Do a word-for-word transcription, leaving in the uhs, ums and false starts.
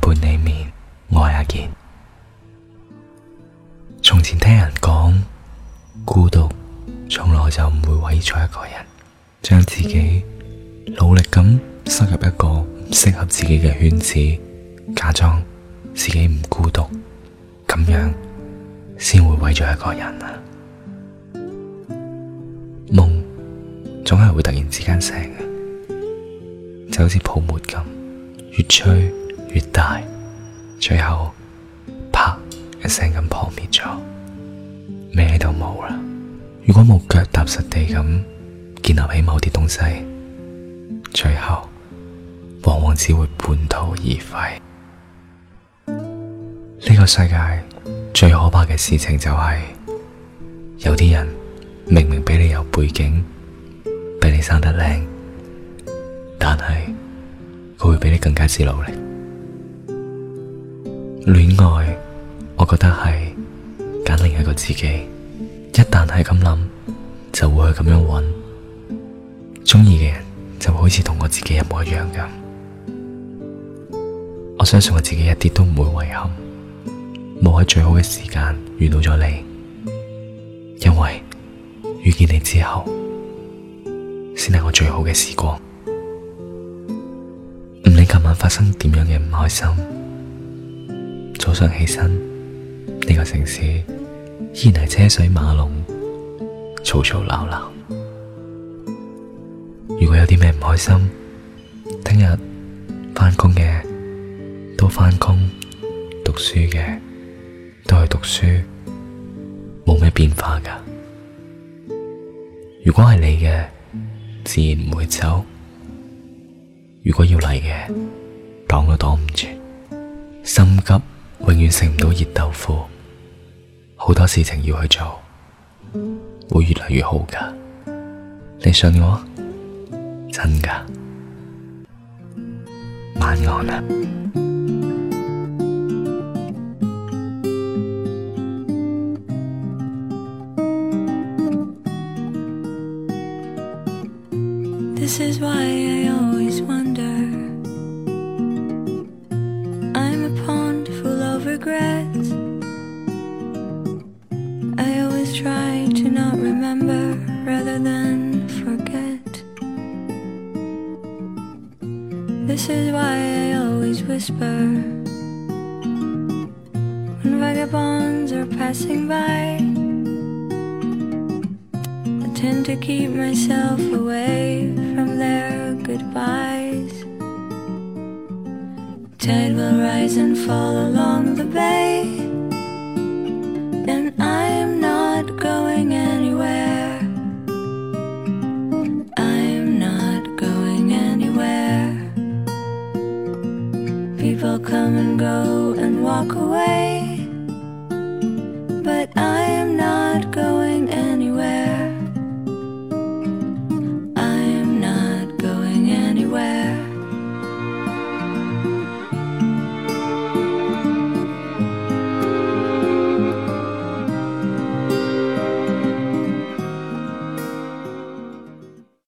伴你眠，我係阿健。從前聽人講，孤獨從來就唔會毀咗一個人，將自己努力咁塞入一個唔適合自己嘅圈子，假裝自己唔孤獨，咁樣先會毀咗一個人啊！夢總係會突然之間醒嘅，就好似泡沫咁，越吹越大，最後啪一聲咁破滅咗，咩都冇啦。如果冇腳踏實地咁建立起某啲東西，最後往往只會半途而廢。呢個世界最可怕嘅事情就係，有啲人明明比你有背景，比你生得靚，但係佢會比你更加之努力。戀愛，我覺得係揀另一個自己，一旦係咁諗，就會去咁樣揾，鍾意嘅人就會好似同我自己一模一樣咁。我相信我自己一啲都唔會遺憾，冇喺最好嘅時間遇到咗你，因為遇見你之後，先係我最好嘅時光。唔理琴晚發生點樣嘅唔開心，早上起身，呢個城市依然係車水馬龍，嘈嘈鬧鬧。如果有啲咩唔開心，聽日返工嘅都返工，讀書嘅都去讀書，冇咩變化㗎。如果係你嘅，自然唔會走；如果要嚟嘅，擋都擋唔住。心急永遠食唔到熱豆腐，好多事情要去做，會越嚟越好㗎。你信我？真㗎。晚安啊。 This is why I always wonder. I'm a pond full of regrets. I always try to not remember rather than forget. This is why I always whisper when vagabonds are passing by. I tend to keep myself away from their goodbyes. Tide will rise and fall along the bay, and I'm not going anywhere. I'm not going anywhere. People come and go and walk away, but I